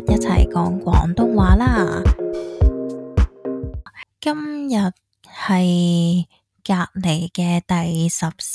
一齊講廣東話啦。今日係隔離嘅第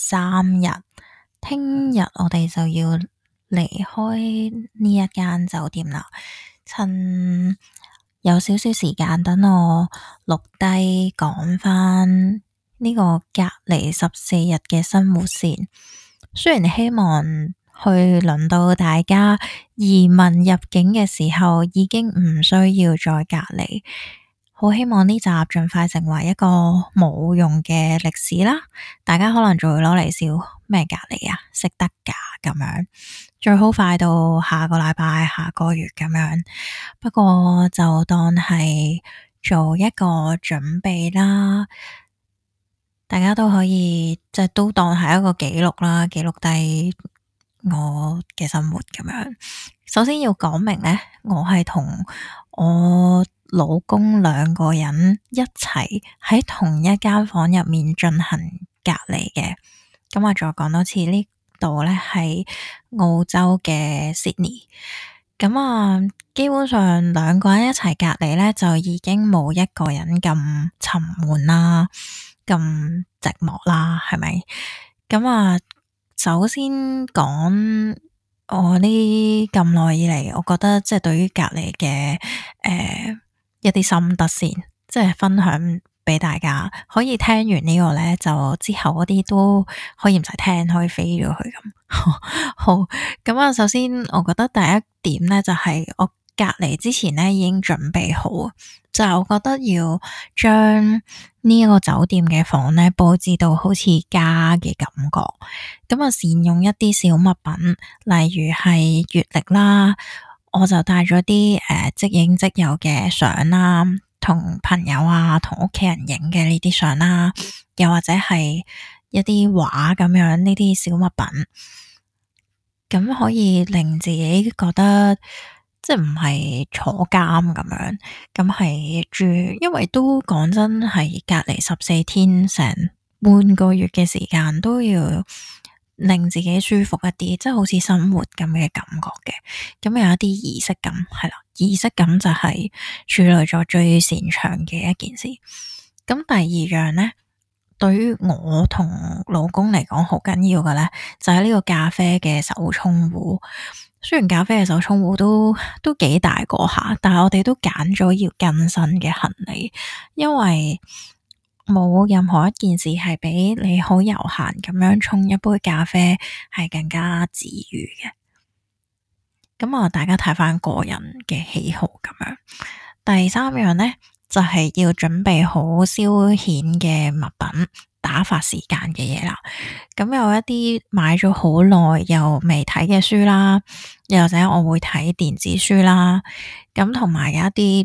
13日，聽日我哋就要離開呢一間酒店啦。趁有少少時間，等我錄低講返呢個隔離14日嘅生活先。雖然希望去輪到大家移民入境嘅時候已經唔需要再隔離，好希望呢集盡快成為一個冇用嘅歷史啦。大家可能仲會攞嚟笑咩隔離啊，識得㗎咁樣，最好快到下個禮拜、下個月咁樣。不過就當係做一個準備啦。大家都可以即係都當係一個記錄啦，記錄低我嘅生活咁樣。首先要講明呢，我係同我老公兩個人一齊喺同一間房入面進行隔離嘅。咁我再講多次，呢度呢係澳洲嘅 Sydney。咁啊，基本上兩個人一齊隔離呢，就已經冇一個人咁沉悶啦，咁寂寞啦，係咪？咁啊，首先講我呢咁耐以嚟，我覺得即係對於隔離嘅一啲心得先，即係分享俾大家。可以聽完呢個呢，就之後嗰啲都可以唔使聽，可以飛咗去咁。好，咁啊，首先我覺得第一點呢，就係我隔離之前呢已經準備好，就係我覺得要將呢一個酒店嘅房呢佈置到好似家嘅感覺。咁啊，善用一啲小物品，例如係月曆啦，我就帶咗啲即影即有嘅相啦，同朋友啊，同屋企人影嘅呢啲相啦，又或者係一啲畫咁樣呢啲小物品，咁可以令自己覺得即係唔係坐監咁樣，咁係住，因為都講真係隔離14天，成半個月嘅時間都要令自己舒服一啲，即係好似生活咁嘅感覺嘅。咁有一啲儀式感，係啦，儀式感就係處女座最擅長嘅一件事。咁第二樣呢，對於我同老公嚟講好緊要嘅呢，就係呢個咖啡嘅手沖壺。雖然咖啡嘅手沖壺都幾大個下，但係我哋都揀咗要更新嘅行李，因為冇任何一件事係比你好悠閒咁樣沖一杯咖啡係更加治癒嘅。咁啊，大家睇返個人嘅喜好咁樣。第三樣呢，就係要準備好消遣嘅物品，打發時間嘅嘢啦。咁有一啲買咗好耐又未睇嘅書啦，又或者我會睇電子書啦。咁同埋有一啲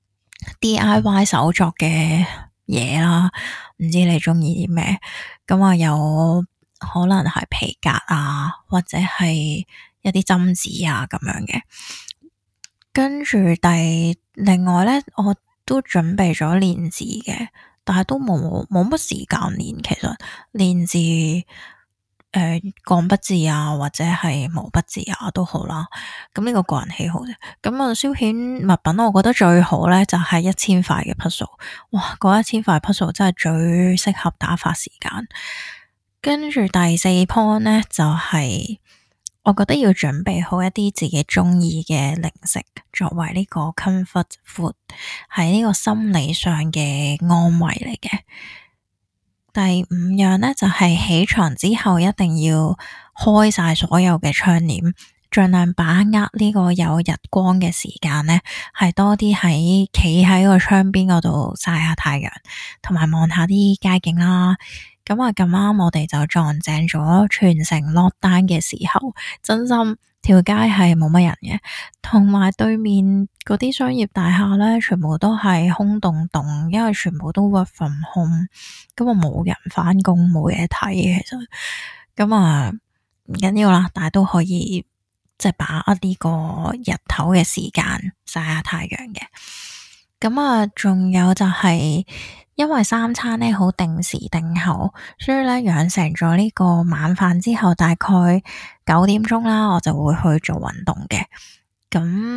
DIY 手作嘅嘢啦，唔知你中意啲咩？咁啊，有可能係皮革啊，或者係一啲針子啊咁樣嘅。跟住另外呢，我都準備咗練字嘅，但係都冇乜時間練。其實練字鋼筆字啊，或者係毛筆字啊都好啦。咁呢個個人喜好啫。咁啊，消遣物品我覺得最好呢，就係1000塊嘅 puzzle。哇，嗰1000塊 puzzle 真係最適合打發時間。跟住第四 point 呢，就係我覺得要準備好一啲自己中意嘅零食，作為呢個 comfort food， 係呢個心理上嘅安慰嚟嘅。第五樣呢，就係起床之後一定要開晒所有嘅窗簾，盡量把握呢個有日光嘅時間呢，係多啲企喺個窗邊嗰度曬下太陽，同埋望下啲街景啦。咁啊，咁啱我哋就撞正咗全城落單嘅時候，真心條街係冇乜人嘅，同埋對面嗰啲商業大廈呢，全部都係空洞洞，因為全部都 work from home，咁啊冇人返工，冇嘢睇嘅，其實咁啊唔緊要啦，但係都可以即係把握呢個日頭嘅時間曬下太陽嘅。咁啊，仲有就係因為3餐呢好定時定候，所以呢養成咗呢個晚飯之後大概9點鐘啦，我就會去做運動嘅。咁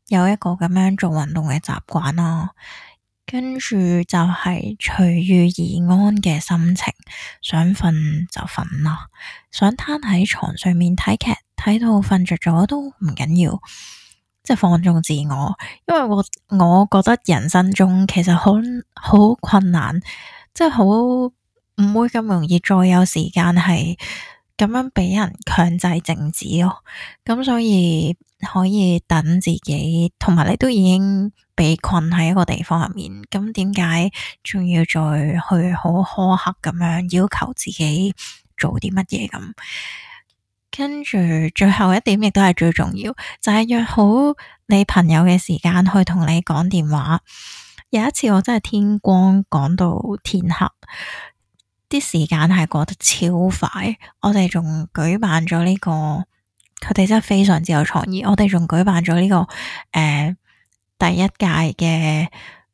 有一個咁樣做運動嘅習慣啦。跟住就係隨遇而安嘅心情，想瞓就瞓啦，想攤喺床上面睇劇，睇到瞓着咗都唔緊要，即係放縱自我。因為我覺得人生中其實好困難，即係好唔會咁容易再有時間係咁樣俾人強制靜止咯。咁所以可以等自己，同埋你都已經被困喺一個地方入面，咁點解仲要再去好苛刻咁樣要求自己做啲乜嘢咁？跟住最後一點亦都係最重要，就係約好你朋友嘅時間去同你講電話。有一次我真係天光講到天黑，啲時間係過得超快。我哋仲舉辦咗呢個，佢哋真係非常之有創意。我哋仲舉辦咗呢個第一屆嘅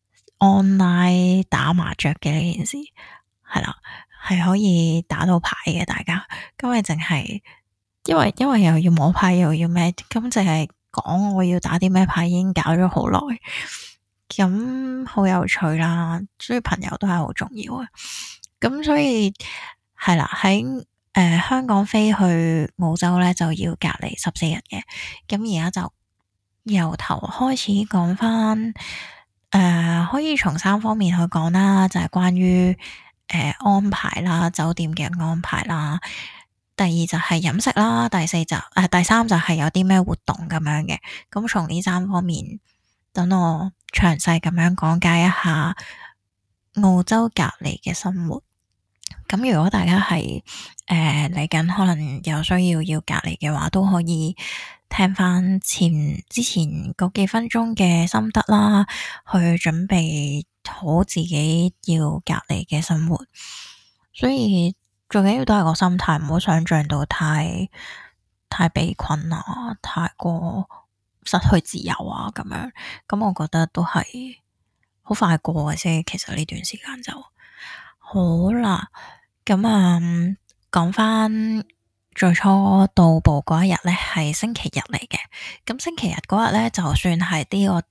online 打麻雀嘅呢件事，係啦，係可以打到牌嘅。大家今日淨係因為又要摸牌又要咩，咁淨係講我要打啲咩牌已經搞咗好耐，咁好有趣啦。所以朋友都係好重要啊。咁所以係啦，喺香港飛去澳洲咧就要隔離14日嘅。咁而家就由頭開始講翻，可以從3方面去講啦，就係關於安排啦，酒店嘅安排啦。第二就係飲食啦，第三就係有啲咩活動咁樣嘅。咁從呢3方面，等我詳細咁樣講解一下澳洲隔離嘅生活。咁如果大家係嚟緊可能有需要隔離嘅話，都可以聽翻之前嗰幾分鐘嘅心得啦，去準備好自己要隔離嘅生活。所以最緊要都係個心態，唔好想象到太被困啊，太過失去自由啊咁樣。咁我覺得都係好快過嘅啫。其實呢段時間就好啦。咁講翻最初到埗嗰一日咧，係星期日嚟嘅。咁星期日嗰日咧，就算係呢個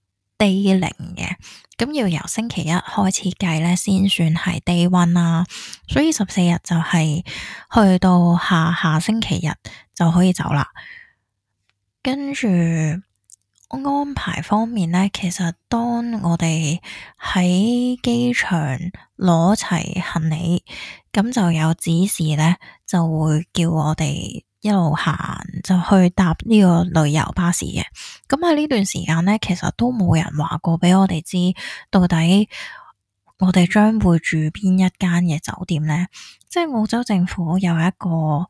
day 0嘅，咁要由星期一開始計咧，先算係 day 1啦。所以14日就係去到下星期日就可以走啦。跟住安排方面咧，其實當我哋喺機場攞齊行李，咁就有指示咧，就會叫我哋一路行就去搭呢個旅遊巴士嘅。咁喺呢段時間咧，其實都冇人話過俾我哋知到底我哋將會住邊一間嘅酒店咧。即係澳洲政府有一個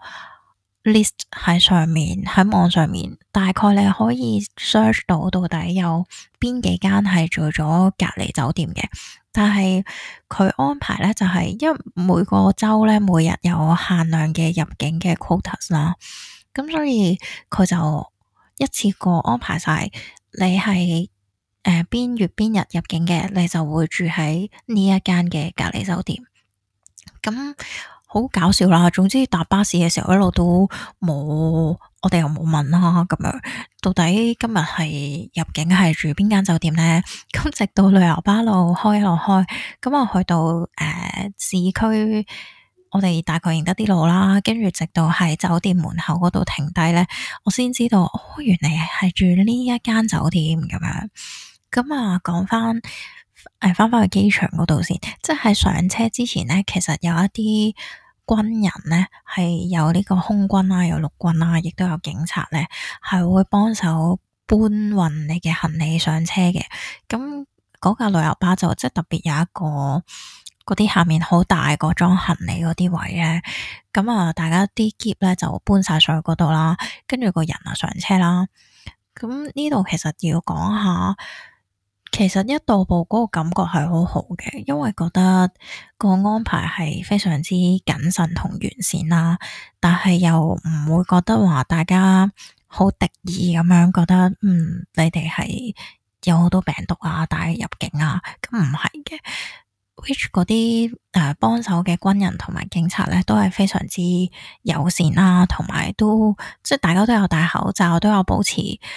list 喺上面，喺網上面，大概你可以 search 到底有邊幾間係做咗隔離酒店嘅。但係佢安排咧就係因為每個州咧每日有限量嘅入境嘅 quotas 啦，咁所以佢就一次過安排晒你係邊月邊日入境嘅，你就會住喺呢一間嘅隔離酒店。咁好搞笑啦！總之搭巴士嘅時候一路都冇，我哋又冇問啦，咁樣到底今日係入境係住邊間酒店呢？咁直到旅遊巴路開，咁我去到市區，我哋大概認得啲路啦，跟住直到喺酒店門口嗰度停低呢，我先知道原來係住呢一間酒店咁樣。咁講翻翻去機場嗰度先，即係上車之前呢，其實有一啲軍人呢，係有呢個空軍啦，有陸軍啦，亦都有警察呢，係會幫手搬運你嘅行李上車嘅。咁嗰架旅遊巴就即係特別有一個嗰啲下面好大個裝行李嗰啲位呢。咁大家啲篋呢就搬晒上去嗰度啦，跟住個人上車啦。咁呢度其實要講下。其實一到埗嗰個感覺係好好嘅，因為覺得個安排係非常之謹慎同完善啦，但係又唔會覺得話大家好敵意咁樣，覺得你哋係有好多病毒帶入境咁唔係嘅。which 嗰啲幫手嘅軍人同埋警察咧，都係非常之友善啦，同埋都即係大家都有戴口罩，都有保持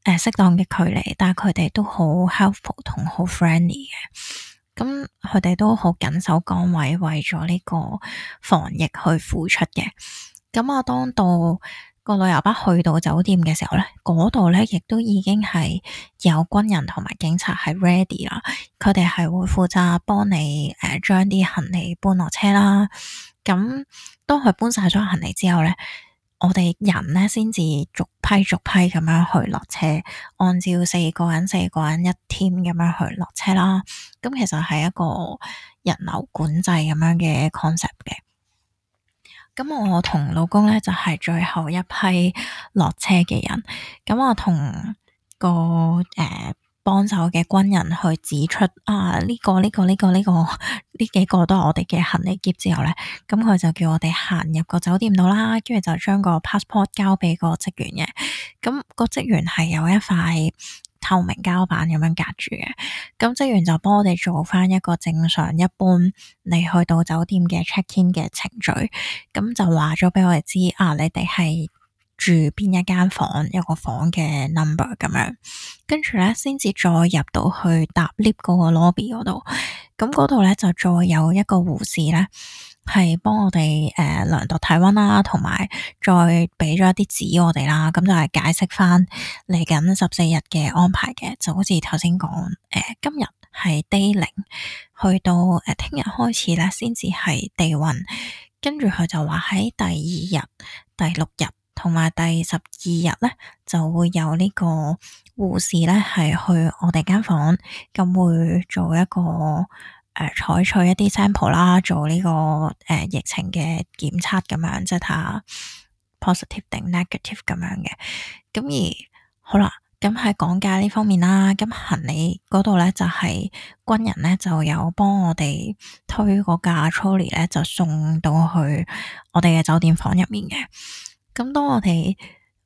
適當嘅距離，但係佢哋都好 helpful 同好 friendly 嘅。咁佢哋都好緊守崗位，為咗呢個防疫去付出嘅。咁啊，當到個旅遊巴去到酒店嘅時候咧，嗰度咧亦都已經係有軍人同埋警察係 ready 啦。佢哋係會負責幫你將啲行李搬落車啦。咁當佢搬晒咗行李之後咧，我哋人咧先至逐批咁樣去落車，按照四個人一 team 咁樣去落車啦。咁其實係一個人流管制咁樣嘅 concept 嘅。咁我同老公咧就係最後一批落車嘅人。咁我同個幫手嘅軍人去指出呢幾個都係我哋嘅行李篋之後咧，咁佢就叫我哋行入個酒店度啦，跟住就將個 passport 交俾個職員嘅。咁個職員係有一塊透明膠板咁樣隔住嘅，咁職員就幫我哋做翻一個正常一般你去到酒店嘅 check in 嘅程序，咁就話咗俾我哋知你哋係住邊一間房，有個房嘅 number 咁樣，跟住咧先至再入到去搭 lift 嗰個 lobby 嗰度，咁嗰度咧就再有一個護士咧係幫我哋量度體溫啦，同埋再俾咗一啲紙我哋啦，咁就係解釋翻嚟緊14日嘅安排嘅，就好似頭先講今日係 day 0，去到聽日開始咧先至係 day 1，跟住佢就話喺第2日、第6日同埋第12日咧就會有呢個護士咧係去我哋間房，咁會做一個採取一啲 sample 啦，做呢個疫情嘅檢測咁樣，即係睇下 positive 定 negative 咁樣嘅。咁而好啦，咁喺講解呢方面啦，咁行李嗰度咧就係軍人咧就有幫我哋推個架 trolley 咧，就送到去我哋嘅酒店房入面嘅。咁當我哋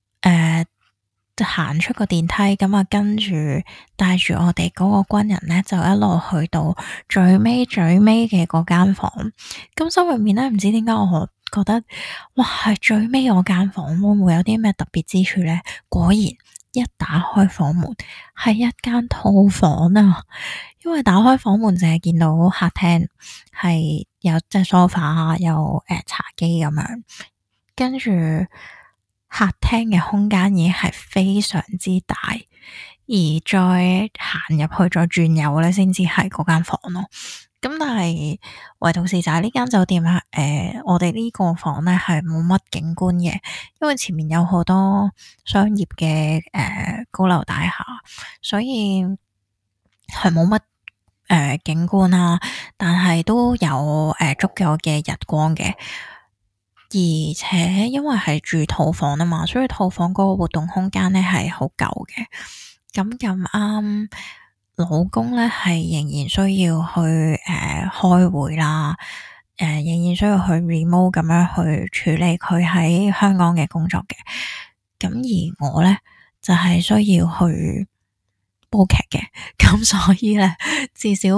行出個電梯，咁啊跟住帶住我哋嗰個軍人咧，就一路去到最尾嘅嗰間房。咁心入面咧，唔知點解我覺得，哇，係最尾嗰間房會唔會有啲咩特別之處咧？果然一打開房門，係一間套房啊！因為打開房門淨係見到客廳，係有即係 sofa 有茶几咁樣，跟住。客廳嘅空間已經係非常之大，而再行入去再轉右咧，先至係嗰間房咯。咁但係唯獨是就係呢間酒店咧，我哋呢個房咧係冇乜景觀嘅，因為前面有好多商業嘅高樓大廈，所以係冇乜景觀啦。但係都有足夠嘅日光嘅。而且因為係住套房啊嘛，所以套房嗰個活動空間咧係好舊嘅。咁啱老公咧係仍然需要去開會啦，仍然需要去 remote 咁樣去處理佢喺香港嘅工作嘅。咁而我咧就係需要去煲劇嘅，咁所以咧至少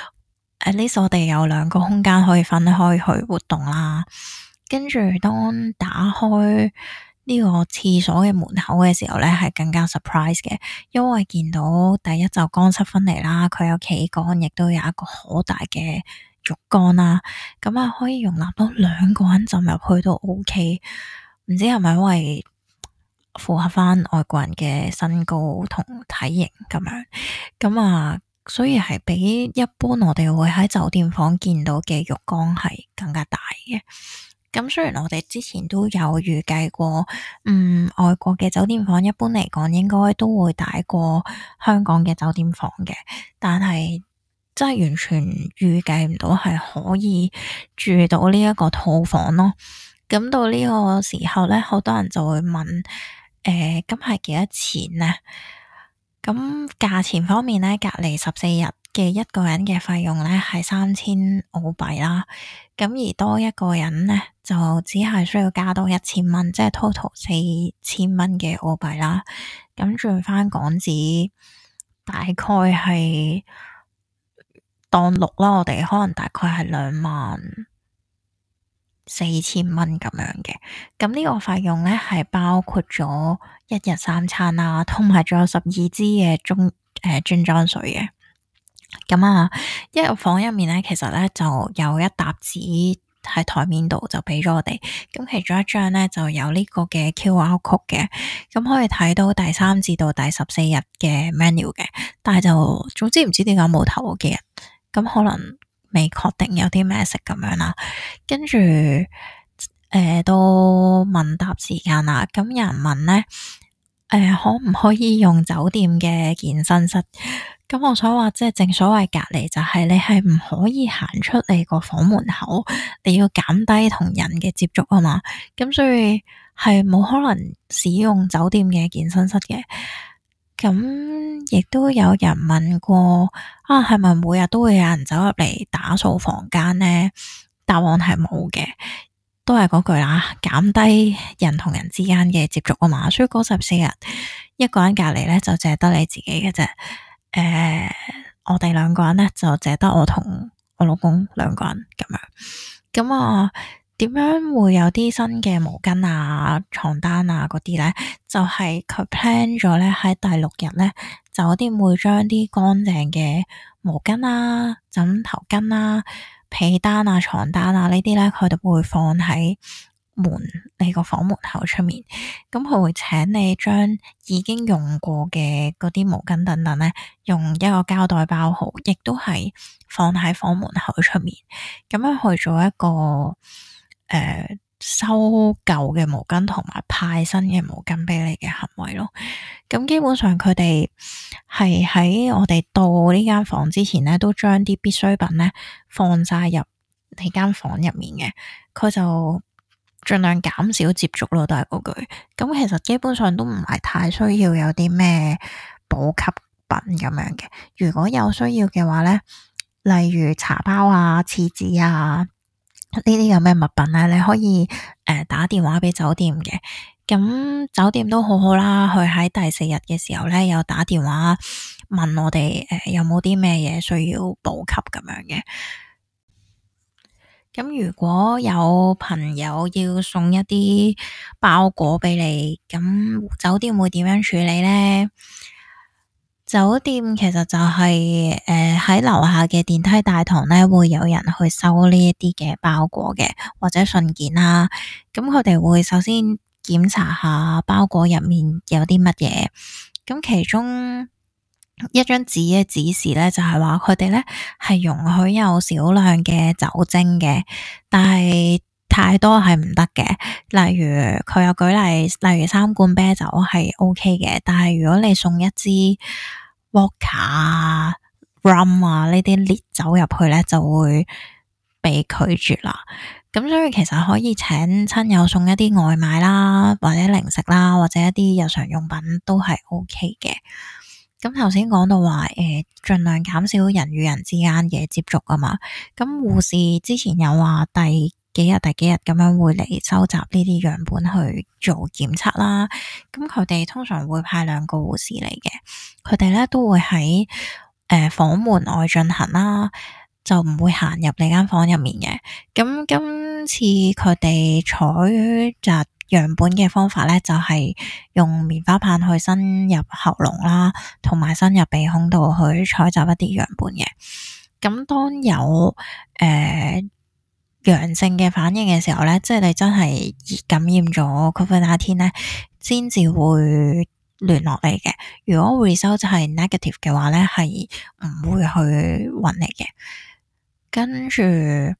at least我哋有2個空間可以分開去活動啦。跟住當打開呢個廁所嘅門口嘅時候咧，係更加 surprise 嘅，因為見到第一就乾濕分離啦，佢有企缸，亦都有一個好大嘅浴缸啦，咁啊可以容納到2個人浸入去都 OK。唔知係咪因為符合翻外國人嘅身高同體型咁樣，咁啊所以係比一般我哋會喺酒店房見到嘅浴缸係更加大嘅。咁雖然我哋之前都有預計過，外國嘅酒店房一般嚟講應該都會大過香港嘅酒店房嘅，但係真係完全預計唔到係可以住到呢一個套房咯。咁到呢個時候咧，好多人就會問，咁係幾多錢呢？咁價錢方面咧，隔離14日嘅一個人嘅費用咧係3000澳幣啦，咁而多一個人咧就只係需要加多1000蚊，即係 total 4000蚊嘅澳幣啦。咁轉翻港紙大概係當6啦，我哋可能大概係2萬 4000蚊咁樣嘅。咁呢個費用咧係包括咗一日3餐啦，同埋仲有12支嘅樽裝水嘅。咁啊，一入房入面咧，其實咧就有一沓紙喺台面度就俾咗我哋。咁其中一張咧就有呢個嘅 QR code 嘅，咁可以睇到第3至到第14日嘅 menu 嘅。但係就總之唔知點解冇頭嗰幾日，咁可能未確定有啲咩食咁樣啦。跟住到問答時間啦，咁有人問咧，可唔可以用酒店嘅健身室？咁我所話即係正所謂隔離，就係你係唔可以行出你個房門口，你要減低同人嘅接觸啊嘛。咁所以係冇可能使用酒店嘅健身室嘅。咁亦都有人問過啊，係咪每日都會有人走入嚟打掃房間呢？答案係冇嘅，都係嗰句啦，減低人同人之間嘅接觸啊嘛。所以嗰14日一個人隔離咧，就淨係得你自己嘅啫。我哋兩個人咧就淨係得我同我老公兩個人咁樣。咁啊，點樣會有啲新嘅毛巾啊、床單啊嗰啲咧？就係佢 plan 咗咧喺第6日咧，酒店會將啲乾淨嘅毛巾啊、枕頭巾啊、被單啊、床單啊呢啲咧，佢哋會放喺你個房門口出面。咁佢會請你將已經用過嘅嗰啲毛巾等等咧，用一個膠袋包好，亦都係放喺房門口出面，咁樣去做一個收舊嘅毛巾同埋派新嘅毛巾俾你嘅行為咯。咁基本上佢哋係喺我哋到呢間房之前咧，都將啲必需品咧放晒入你間房入面嘅。佢就盡量減少接觸咯，都係嗰句。咁其實基本上都唔係太需要有啲咩補給品咁樣嘅。如果有需要嘅話咧，例如茶包啊、廁紙啊呢啲咁嘅物品咧，你可以打電話俾酒店嘅。咁酒店都好好啦，佢喺第4日嘅時候咧，有打電話問我哋有冇啲咩嘢需要補給咁樣嘅。咁如果有朋友要送一啲包裹俾你，咁酒店會點樣處理呢？酒店其實就係喺樓下嘅電梯大堂咧，會有人去收呢一啲嘅包裹嘅或者信件啦。咁佢哋會首先檢查下包裹入面有啲乜嘢。咁其中一張紙嘅指示咧，就係話佢哋咧係容許有少量嘅酒精嘅，但係太多係唔得嘅。例如佢有舉例，例如3罐啤酒係 OK 嘅，但係如果你送一支 vodka 啊、rum 啊呢啲烈酒入去咧，就會被拒絕啦。咁所以其實可以請親友送一啲外賣啦，或者零食啦，或者一啲日常用品都係 OK 嘅。咁頭先講到話，盡量減少人與人之間嘅接觸啊嘛。咁護士之前有話第幾日咁樣會嚟收集呢啲樣本去做檢測啦。咁佢哋通常會派2個護士嚟嘅，佢哋咧都會喺房門外進行啦，就唔會行入你間房入面嘅。咁今次佢哋採集樣本嘅方法咧，就係用棉花棒去伸入喉嚨啦，同埋伸入鼻孔度去採集一啲樣本嘅。咁當有陽性嘅反應嘅時候咧，即係你真係感染咗 COVID-19 咧，先至會聯絡你嘅。如果 result 係 negative 嘅話咧，係唔會去揾你嘅。跟住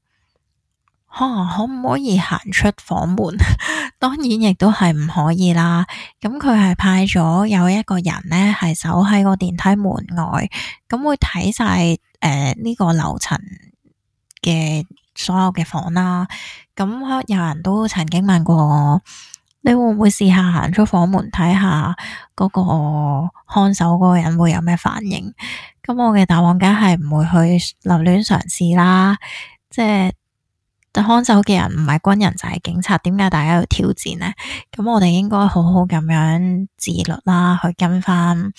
可唔可以行出房門？當然亦都係唔可以啦。咁佢係派咗有一個人咧，係守喺個電梯門外，咁會睇晒呢個樓層嘅所有嘅房啦。咁有人都曾經問過我，你會唔會試下行出房門睇下嗰個看守嗰個人會有咩反應？咁我嘅答案梗係唔會去留戀嘗試啦。即係看守嘅人唔係軍人就係警察，點解大家要挑戰呢？咁我哋應該好好咁樣自律啦，去跟翻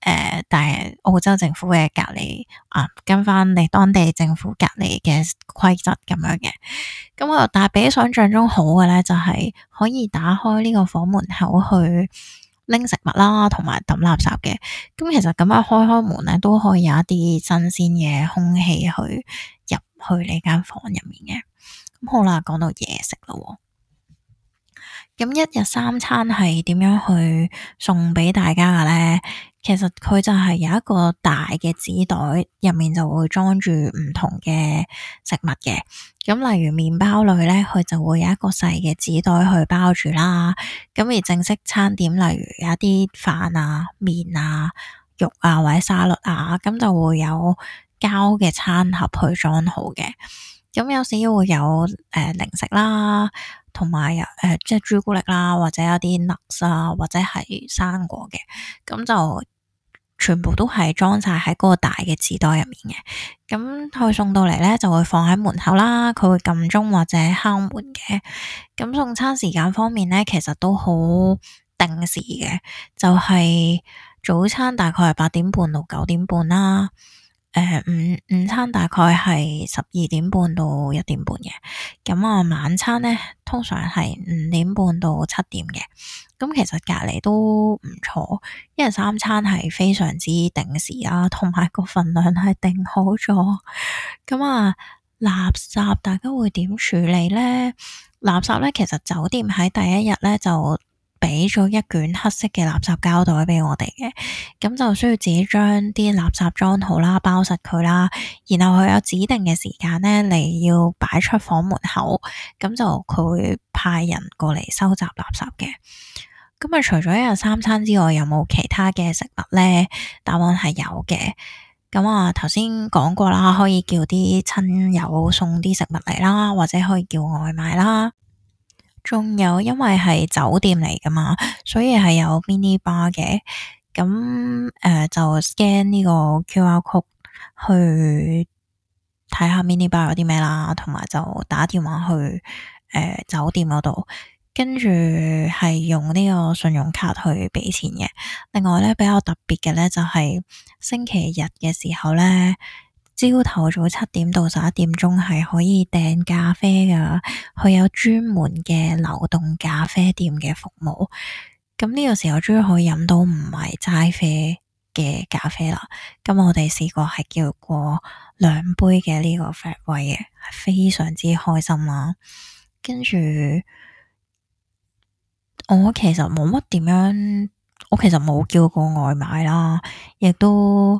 但係澳洲政府嘅隔離跟翻你當地政府隔離嘅規則咁樣嘅。咁但係比想象中好嘅咧，就係可以打開呢個房門口去拎食物啦，同埋抌垃圾嘅。咁其實咁樣開門咧，都可以有一啲新鮮嘅空氣去入去你間房入面嘅。咁好啦，講到嘢食咯。咁一日三餐係點樣去送俾大家嘅咧？其實佢就係有一個大嘅紙袋，入面就會裝住唔同嘅食物嘅。咁例如麵包類咧，佢就會有一個細嘅紙袋去包住啦。咁而正式餐點，例如有一啲飯啊、麵啊、肉啊或者沙律啊，咁就會有膠嘅餐盒去裝好嘅。咁有時會有零食啦，同埋即係朱古力啦，或者有啲 nuts 啊，或者係生果嘅，咁就全部都係裝晒喺嗰個大嘅紙袋入面嘅。咁佢送到嚟咧，就會放喺門口啦，佢會撳鐘或者敲門嘅。咁送餐時間方面咧，其實都好定時嘅，就係早餐大概係8點半到9點半啦。午餐大概係12點半到1點半嘅。咁晚餐咧通常係5點半到7點嘅。咁其實隔離都唔錯，一日三餐係非常之定時啦，同埋個份量係定好咗。垃圾大家會點處理咧？垃圾咧，其實酒店喺第一日咧就俾咗一卷黑色嘅垃圾膠袋俾我哋嘅，咁就需要自己將啲垃圾裝好啦，包實佢啦，然後佢有指定嘅時間咧，你要擺出房門口，咁就佢會派人過嚟收集垃圾嘅。咁除咗一日三餐之外，有冇其他嘅食物咧？答案係有嘅。咁頭先講過啦，可以叫啲親友送啲食物嚟啦，或者可以叫外賣啦。仲有，因為係酒店嚟噶嘛，所以係有 mini bar 嘅。咁就 scan 呢個 QR code 去睇下 mini bar 有啲咩啦，同埋就打電話去酒店嗰度，跟住係用呢個信用卡去俾錢嘅。另外咧，比較特別嘅咧，就係星期日嘅時候咧，朝頭早7點到11點鐘係可以訂咖啡噶，佢有專門嘅流動咖啡店嘅服務。咁呢個時候終於可以飲到唔係齋啡嘅咖啡啦。咁我哋試過係叫過2杯嘅呢個 flat white 嘅，係非常之開心啦。跟住我其實冇乜點樣，我其實冇叫過外賣啦，亦都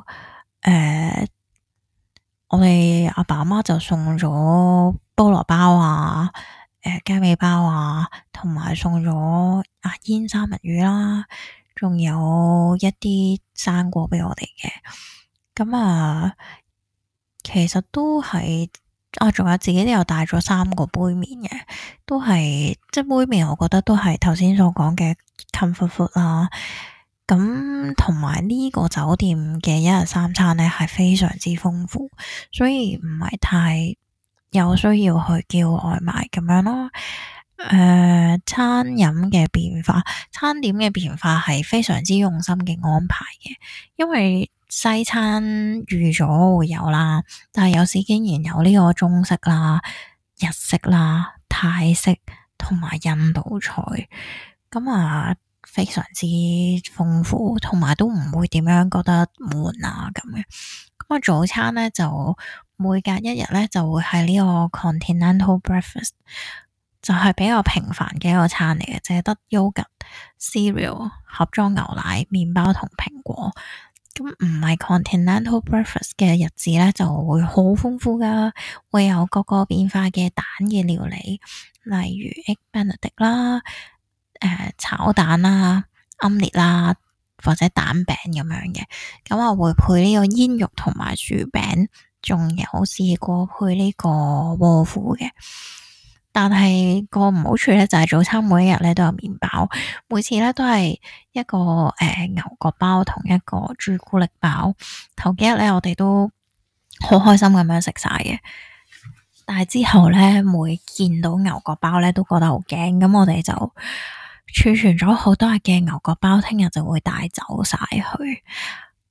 我哋阿爸阿媽就送咗菠蘿包啊、雞尾包啊，同埋送咗煙三文魚啦，仲有一啲生果俾我哋嘅。咁其實都係仲有自己都有帶咗3個杯麵嘅，都係即係杯麵，我覺得都係頭先所講嘅 comfort food 啦。咁同埋呢個酒店嘅一日三餐咧係非常之豐富，所以唔係太有需要去叫外賣咁樣咯。餐飲嘅變化，餐點嘅變化係非常之用心嘅安排嘅，因為西餐預咗會有啦，但係有時竟然有呢個中式啦、日式啦、泰式同埋印度菜，非常之豐富，同埋都唔會點樣覺得悶咁嘅。早餐咧就每隔一日咧就會係呢個 Continental Breakfast， 就係比較平凡嘅一個餐嚟嘅，淨係得 yogurt、cereal、盒裝牛奶、麵包同蘋果。咁唔係 Continental Breakfast 嘅日子咧，就會好豐富噶，會有各個變化嘅蛋嘅料理，例如 Egg Benedict 啦。炒蛋啦、奄列啦，或者蛋餅咁樣嘅，我會配呢個煙肉同埋薯餅，仲有試過配呢個窩夫嘅。但係個唔好處咧，就係早餐每一日咧都有麵包，每次咧都係一個牛角包同一個朱古力包。頭幾日咧，我哋都好開心咁樣食晒嘅，但係之後咧，每見到牛角包咧，都覺得好驚，咁我哋就儲存咗好多日嘅牛角包，聽日就會帶走晒去。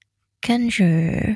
跟住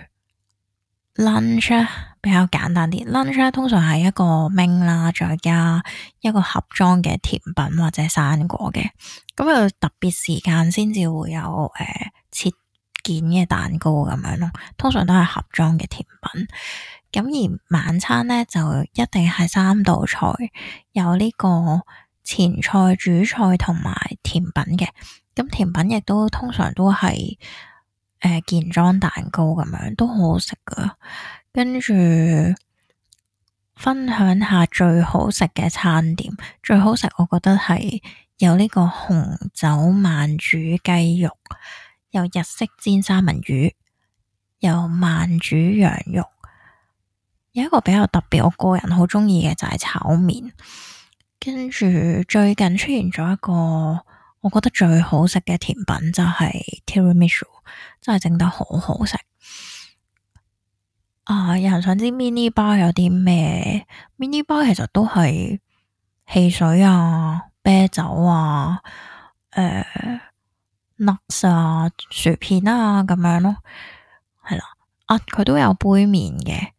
lunch 比較簡單啲，lunch 通常係一個 main 啦，再加一個盒裝嘅甜品或者生果嘅，咁有特別時間先至會有切件嘅蛋糕咁樣咯，通常都係盒裝嘅甜品。咁而晚餐呢，就一定係3道菜，有呢個前菜、主菜同埋甜品嘅。咁甜品亦都通常都係件裝蛋糕咁樣，都好好食噶。跟住分享下最好食嘅餐點，最好食我覺得係有呢個紅酒慢煮雞肉，有日式煎三文魚，有慢煮羊肉。有一個比較特別，我個人好中意嘅就係炒麵。跟住最近出現咗一個我覺得最好食嘅甜品就係 Tiramisu， 真係整得好好食。有人想知 mini bar 有啲咩？mini bar 其實都係汽水啊、啤酒啊、nuts 啊、薯片啊咁樣咯，係啦。佢都有杯麵嘅。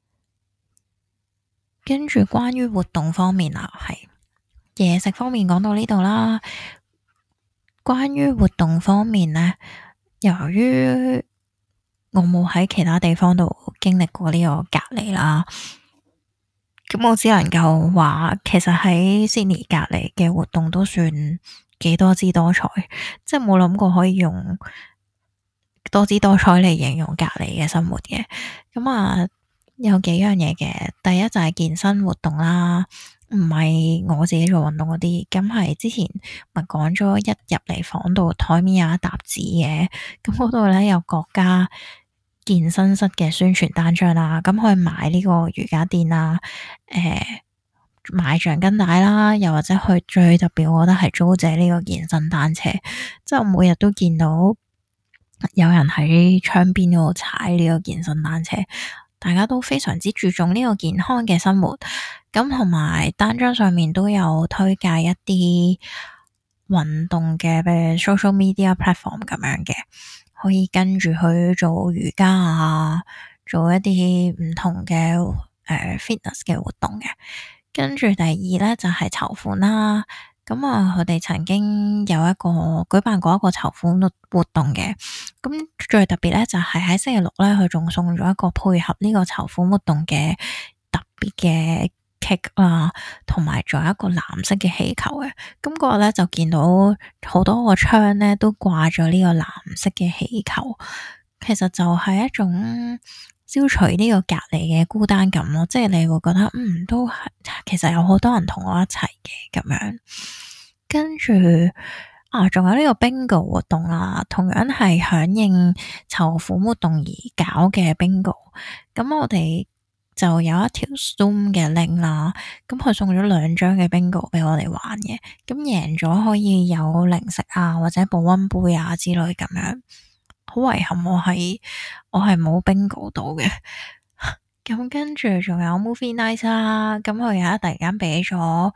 跟住關於活動方面係嘢食方面講到呢度啦。關於活動方面呢，由於我冇喺其他地方度經歷過呢個隔離啦，咁我只能夠話，其實喺 Sydney 隔離嘅活動都算幾多姿多彩，即係冇諗過可以用多姿多彩嚟形容隔離嘅生活嘅。咁有幾樣嘢嘅，第一就係健身活動啦，唔係我自己做運動嗰啲，咁係之前咪講咗一入嚟房度台面有一沓紙嘅，咁嗰度咧有各家健身室嘅宣傳單張啦，咁可以買呢個瑜伽墊啦，買橡筋帶啦，又或者去最特別，我覺得係租借呢個健身單車，即係我每日都見到有人喺窗邊嗰度踩呢個健身單車。大家都非常之注重呢個健康嘅生活，咁同埋單張上面都有推介一啲運動嘅，譬如 social media platform 咁樣嘅，可以跟住去做瑜伽啊，做一啲唔同嘅fitness 嘅活動嘅。跟住第二咧就係籌款啦。咁佢哋曾經舉辦過一個籌款活動嘅，咁最特別咧就係喺星期六咧，佢仲送咗一個配合呢個籌款活動嘅特別嘅 cake 啦，同埋仲有一個藍色嘅氣球嘅。咁嗰日咧就見到好多個窗咧都掛咗呢個藍色嘅氣球，其實就係一種消除呢個隔離嘅孤單感咯，即係你會覺得都係其實有好多人同我一齊嘅咁樣。跟住仲有呢個 bingo 活動啦，同樣係響應籌款活動而搞嘅 bingo。咁我哋就有一條 Zoom 嘅 link 啦，咁佢送咗2張嘅 bingo 俾我哋玩嘅，咁贏咗可以有零食啊或者保溫杯啊之類咁樣。好遺憾我係冇 bingo 到嘅。咁跟住仲有 movie night 啦，咁佢有突然間俾咗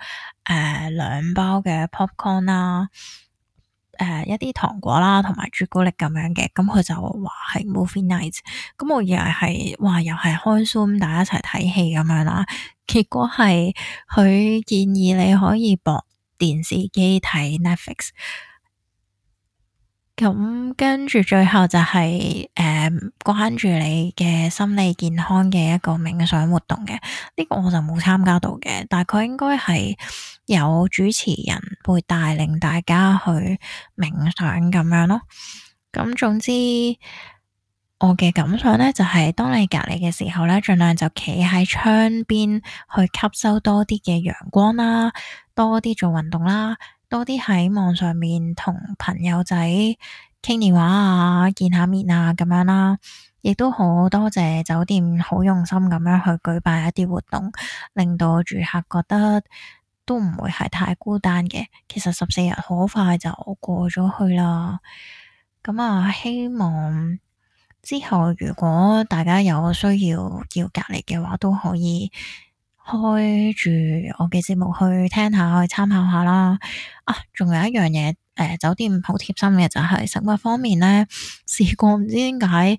2包嘅 popcorn 啦，一啲糖果啦同埋朱古力咁樣嘅，咁佢就話係 movie night，咁我以為係又係開 Zoom 大家一齊睇戲咁樣啦，結果係佢建議你可以駁電視機睇 Netflix。咁跟住最後就係關注你嘅心理健康嘅一個冥想活動嘅，呢個我就冇參加到嘅，但係佢應該係有主持人會帶領大家去冥想咁樣咯。咁總之我嘅感想呢，就係當你隔離嘅時候呢，盡量就企喺窗邊去吸收多啲嘅陽光啦，多啲做運動啦，多啲喺網上面同朋友仔傾電話啊，見下面啊咁樣啦，亦都好多謝酒店好用心咁樣去舉辦一啲活動，令到住客覺得都唔會係太孤單嘅。其實14日好快就過咗去啦。咁希望之後如果大家有需要隔離嘅話，都可以開住我嘅節目去聽下，去參考下啦。仲有一樣嘢，酒店好貼心嘅就係食物方面呢，試過唔知點解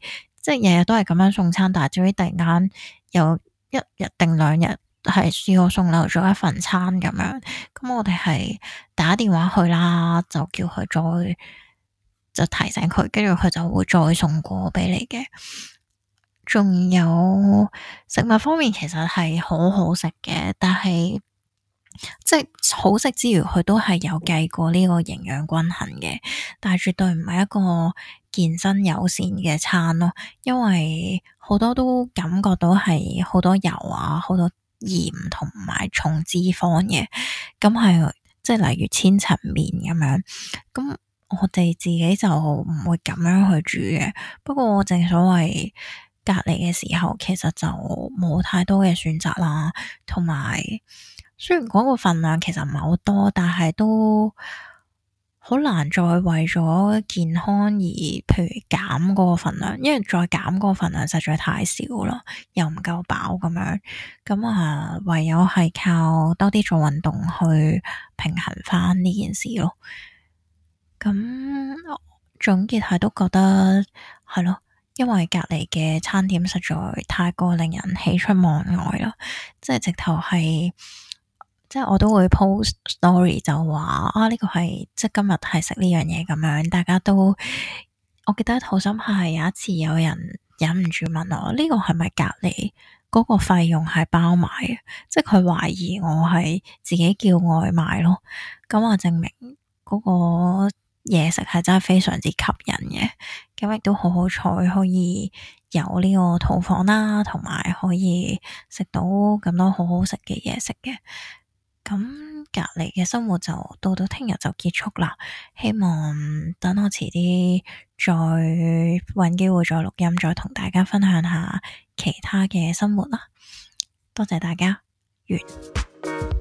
即係日日都係咁樣送餐，但係至於突然間有一日定兩日係試過送漏咗一份餐咁樣，咁我哋係打電話去啦，就叫佢就提醒佢，跟住佢就會再送過俾你嘅。仲有食物方面，其實係好好食嘅，但係即係好食之餘，佢都係有計過呢個營養均衡嘅，但係絕對唔係一個健身友善嘅餐咯，因為好多都感覺到係好多油啊，好多鹽同埋重脂肪嘅，咁係即係例如千層麵咁樣，咁我哋自己就唔會咁樣去煮嘅。不過正所謂隔離嘅時候，其實就冇太多嘅選擇啦，同埋雖然嗰個份量其實唔係好多，但係都好難再為咗健康而譬如減嗰個份量，因為再減嗰個份量實在太少啦，又唔夠飽咁樣，咁啊唯有係靠多啲做運動去平衡翻呢件事咯。咁總結係都覺得係咯，因為隔籬嘅餐點實在太過令人喜出望外啦，即係直頭係，即係我都會 post story 就話啊呢個係即係今日係食呢樣嘢咁樣，大家都我記得好深刻係有一次有人忍唔住問我呢個係咪隔籬嗰個費用係包埋嘅，即係佢懷疑我係自己叫外賣咯，咁我證明嗰個嘢食係真係非常之吸引嘅，咁亦都好好彩可以有呢個套房啦，同埋可以食到咁多好好食嘅嘢食嘅。咁隔離嘅生活就到聽日就結束啦，希望等我遲啲再搵機會再錄音，再同大家分享下其他嘅生活啦。多謝大家，完。